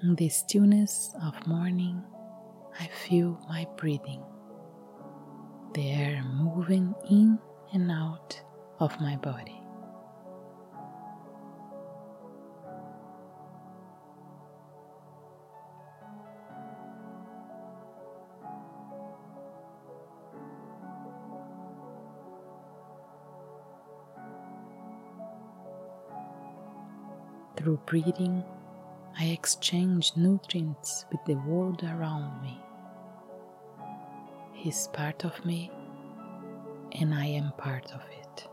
In the stillness of morning, I feel my breathing, the air moving in and out of my body. Through breathing, I exchange nutrients with the world around me. He is part of me, and I am part of it.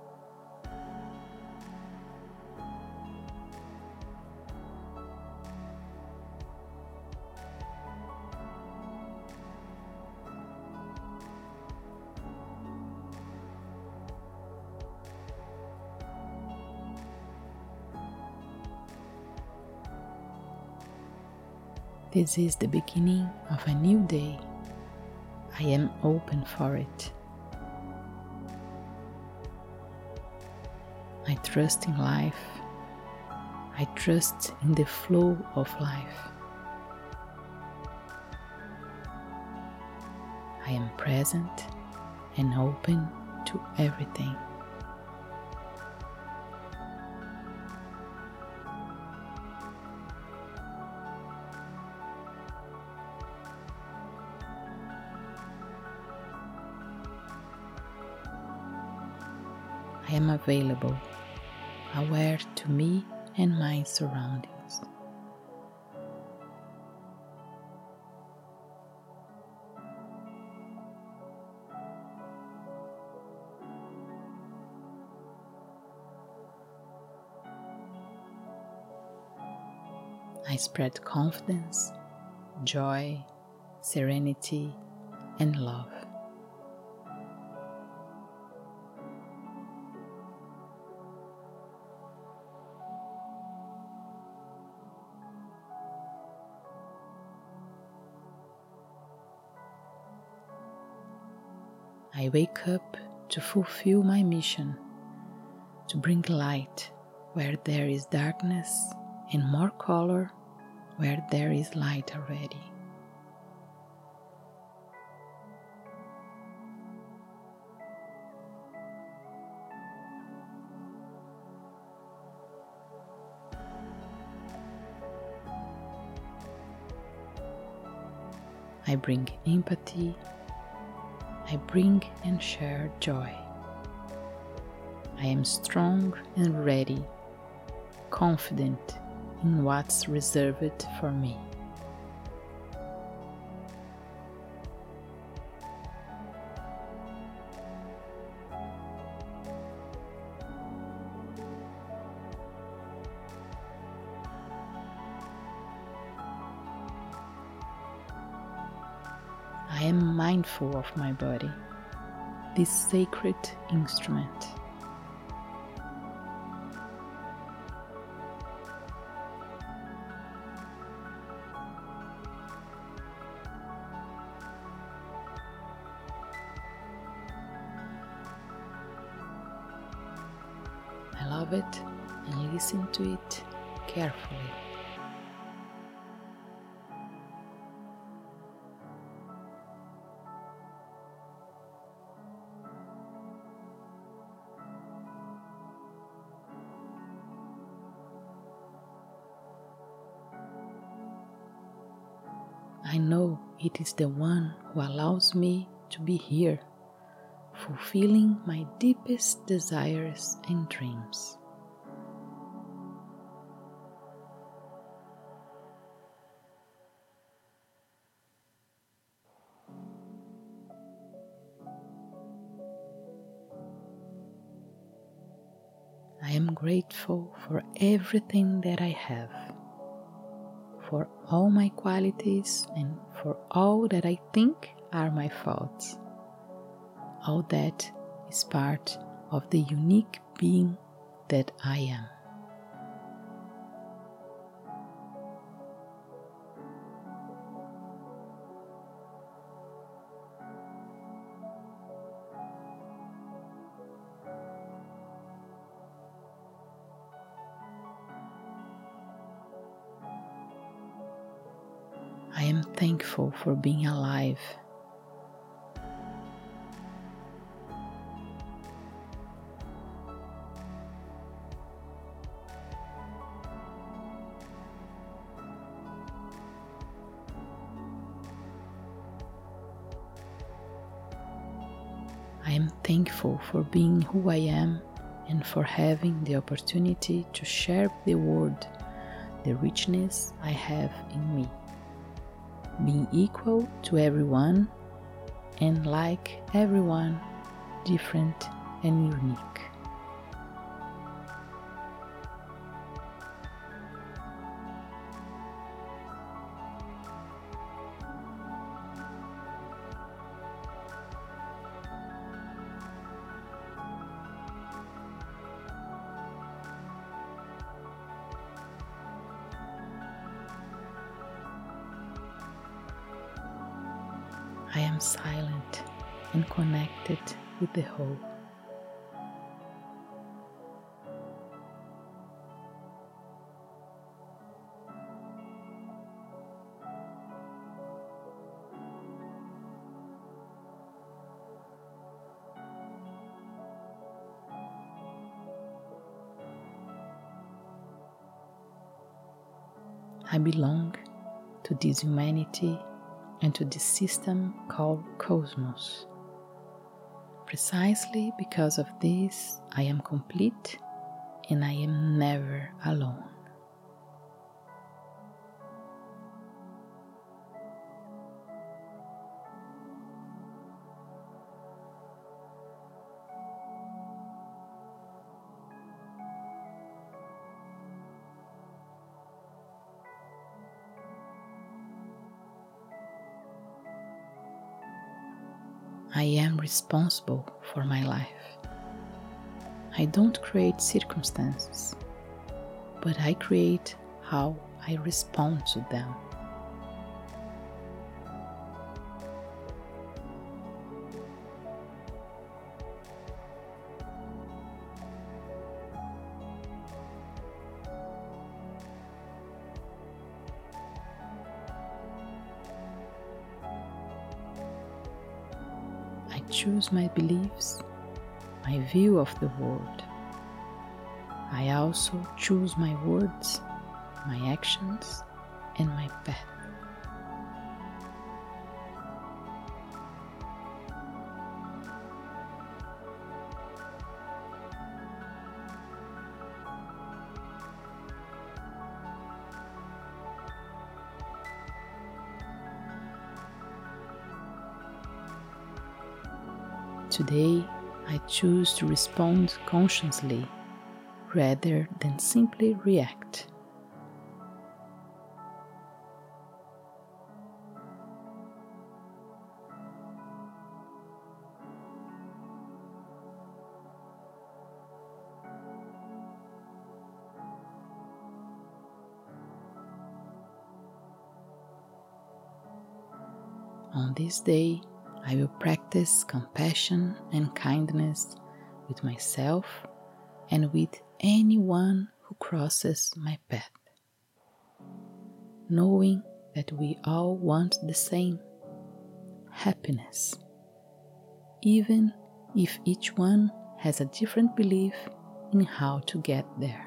This is the beginning of a new day. I am open for it. I trust in life. I trust in the flow of life. I am present and open to everything. I am available, aware to me and my surroundings. I spread confidence, joy, serenity, and love. I wake up to fulfill my mission, to bring light where there is darkness and more color where there is light already. I bring empathy. I bring and share joy. I am strong and ready, confident in what's reserved for me. I am mindful of my body, this sacred instrument. I love it and listen to it carefully. I know it is the one who allows me to be here, fulfilling my deepest desires and dreams. I am grateful for everything that I have, for all my qualities and for all that I think are my faults. All that is part of the unique being that I am. I am thankful for being alive. I am thankful for being who I am and for having the opportunity to share with the world the richness I have in me. Being equal to everyone and like everyone, different and unique. I am silent and connected with the whole. I belong to this humanity and to this system called Cosmos. Precisely because of this, I am complete and I am never alone. I am responsible for my life. I don't create circumstances, but I create how I respond to them. I choose my beliefs, my view of the world. I also choose my words, my actions, and my path. Today, I choose to respond consciously rather than simply react. On this day, I will practice compassion and kindness with myself and with anyone who crosses my path, knowing that we all want the same happiness, even if each one has a different belief in how to get there.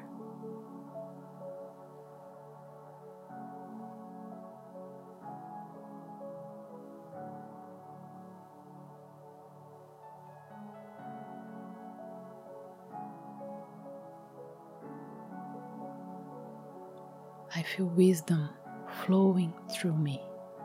I feel wisdom flowing through me.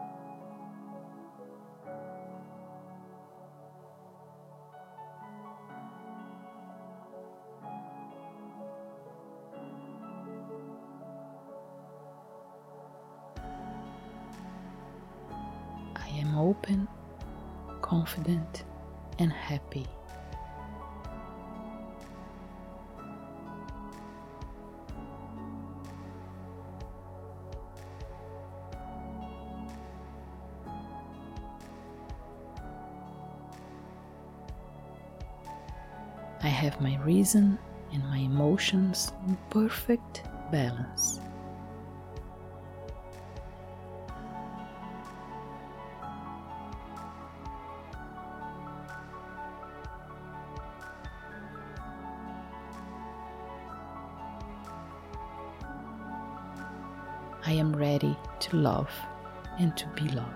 I am open, confident, and happy. I have my reason and my emotions in perfect balance. I am ready to love and to be loved.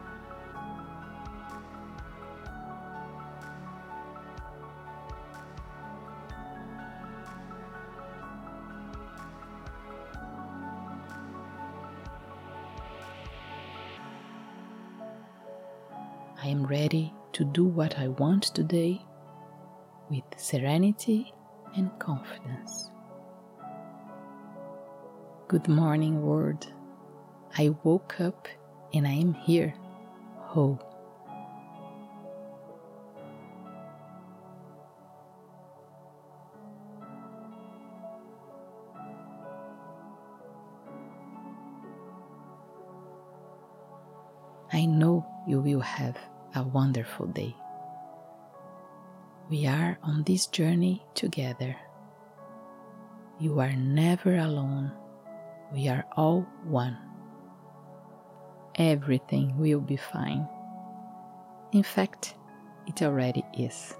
I am ready to do what I want today with serenity and confidence. Good morning, world. I woke up and I am here, whole. I know you will have a wonderful day. We are on this journey together. You are never alone. We are all one. Everything will be fine. In fact, it already is.